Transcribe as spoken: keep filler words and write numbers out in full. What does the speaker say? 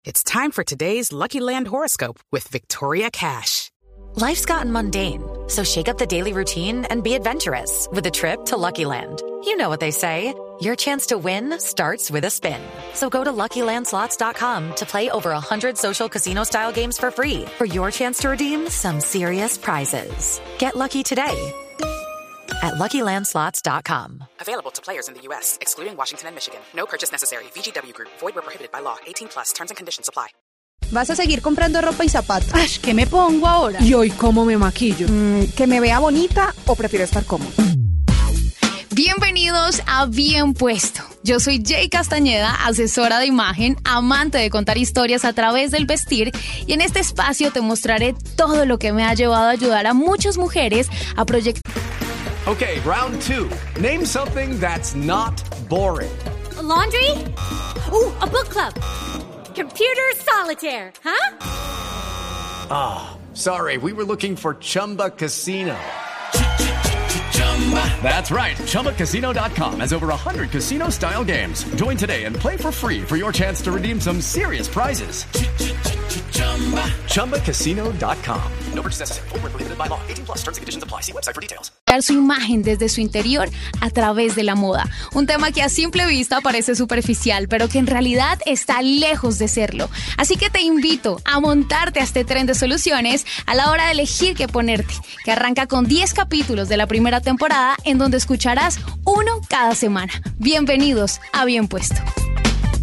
It's time for today's Lucky Land horoscope with Victoria Cash. Life's gotten mundane, so shake up the daily routine and be adventurous with a trip to Lucky Land. You know what they say, your chance to win starts with a spin. So go to Lucky Land Slots dot com to play over one hundred social casino-style games for free for your chance to redeem some serious prizes. Get lucky today at Lucky Land Slots dot com. Available to players in the U S, excluding Washington and Michigan. No purchase necessary. V G W Group. Void where prohibited by law. eighteen plus. Terms and conditions apply. ¿Vas a seguir comprando ropa y zapatos? Ay, ¿qué me pongo ahora? ¿Y hoy cómo me maquillo? Mm, ¿Que me vea bonita o prefiero estar cómoda? Bienvenidos a Bien Puesto. Yo soy Jay Castañeda, asesora de imagen, amante de contar historias a través del vestir, y en este espacio te mostraré todo lo que me ha llevado a ayudar a muchas mujeres a proyectar. Okay, round two. Name something that's not boring. A laundry? Ooh, a book club. Computer solitaire, huh? Ah, oh, sorry, we were looking for Chumba Casino. That's right, Chumba Casino dot com has over one hundred casino-style games. Join today and play for free for your chance to redeem some serious prizes. Chumba Casino dot com. No purchase necessary. Void where prohibited by law. eighteen plus. Terms and conditions apply. See website for details. Su imagen desde su interior a través de la moda. Un tema que a simple vista parece superficial, pero que en realidad está lejos de serlo. Así que te invito a montarte a este tren de soluciones a la hora de elegir qué ponerte, que arranca con diez capítulos de la primera temporada, en donde escucharás uno cada semana. Bienvenidos a Bien Puesto.